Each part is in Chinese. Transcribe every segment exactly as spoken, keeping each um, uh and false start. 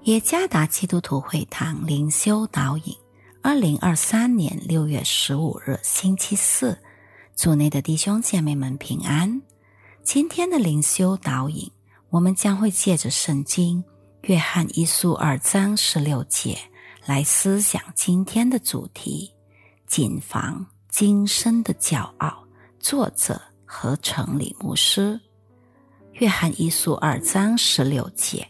耶加达基督徒会堂灵修导引，二零二三年六月十五日星期四，主内的弟兄姐妹们平安。今天的灵修导引，我们将会借着圣经约翰一书二章十六节来思想今天的主题：谨防今生的骄傲。作者何成礼牧师。约翰一书二章十六节，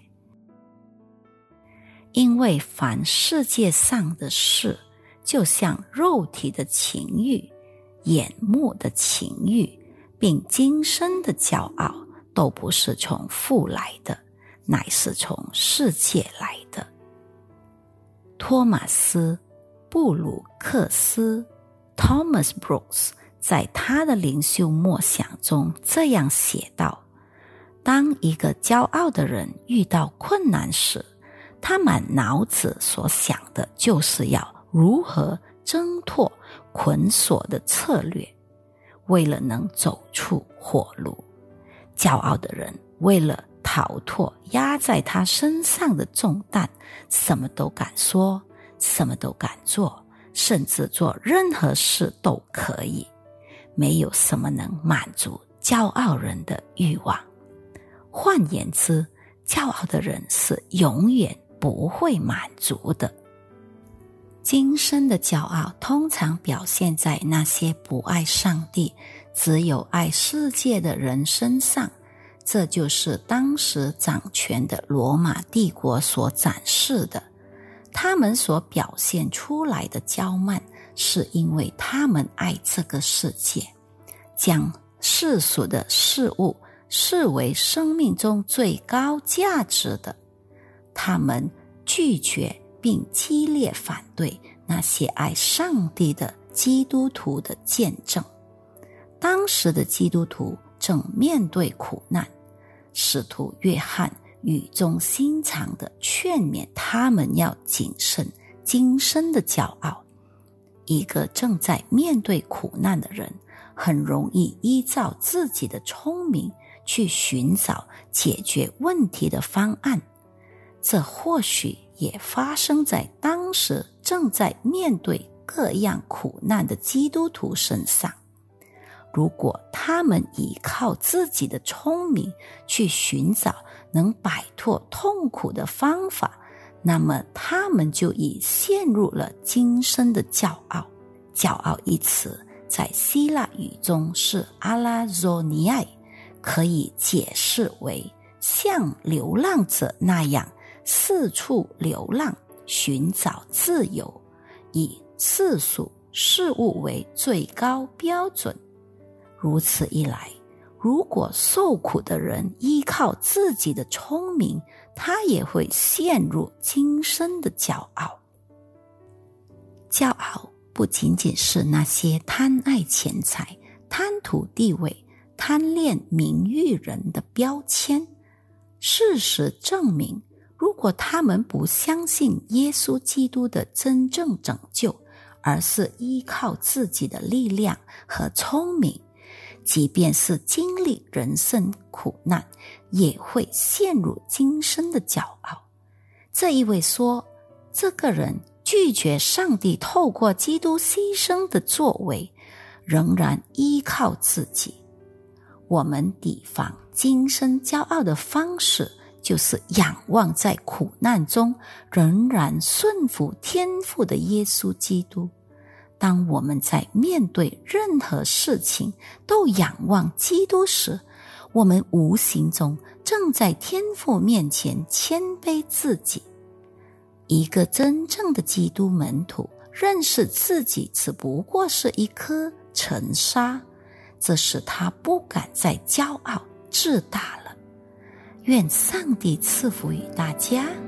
因为凡世界上的事，就像肉体的情欲、眼目的情欲，并今生的骄傲，都不是从父来的，乃是从世界来的。托马斯·布鲁克斯 Thomas Brooks 在他的灵修默想中这样写道：当一个骄傲的人遇到困难时，他满脑子所想的就是要如何挣脱捆锁的策略，为了能走出火路。骄傲的人为了逃脱压在他身上的重担，什么都敢说，什么都敢做，甚至做任何事都可以。没有什么能满足骄傲人的欲望。换言之，骄傲的人是永远不会满足的。今生的骄傲通常表现在那些不爱上帝，只有爱世界的人身上。这就是当时掌权的罗马帝国所展示的。他们所表现出来的骄慢，是因为他们爱这个世界，将世俗的事物视为生命中最高价值的。他们拒绝并激烈反对那些爱上帝的基督徒的见证。当时的基督徒正面对苦难，使徒约翰语重心长地劝勉他们要谨慎今生的骄傲。一个正在面对苦难的人，很容易依照自己的聪明去寻找解决问题的方案。这或许也发生在当时正在面对各样苦难的基督徒身上。如果他们依靠自己的聪明去寻找能摆脱痛苦的方法，那么他们就已陷入了今生的骄傲。骄傲一词在希腊语中是阿拉佐尼埃，可以解释为像流浪者那样四处流浪，寻找自由，以世俗事物为最高标准。如此一来，如果受苦的人依靠自己的聪明，他也会陷入今生的骄傲。骄傲不仅仅是那些贪爱钱财、贪图地位、贪恋名誉人的标签。事实证明，如果他们不相信耶稣基督的真正拯救，而是依靠自己的力量和聪明，即便是经历人生苦难，也会陷入今生的骄傲。这意味说，这个人拒绝上帝透过基督牺牲的作为，仍然依靠自己。我们抵防今生骄傲的方式，就是仰望在苦难中仍然顺服天父的耶稣基督。当我们在面对任何事情都仰望基督时，我们无形中正在天父面前谦卑自己。一个真正的基督门徒认识自己只不过是一颗尘沙，这使他不敢再骄傲自大了。愿上帝赐福于大家。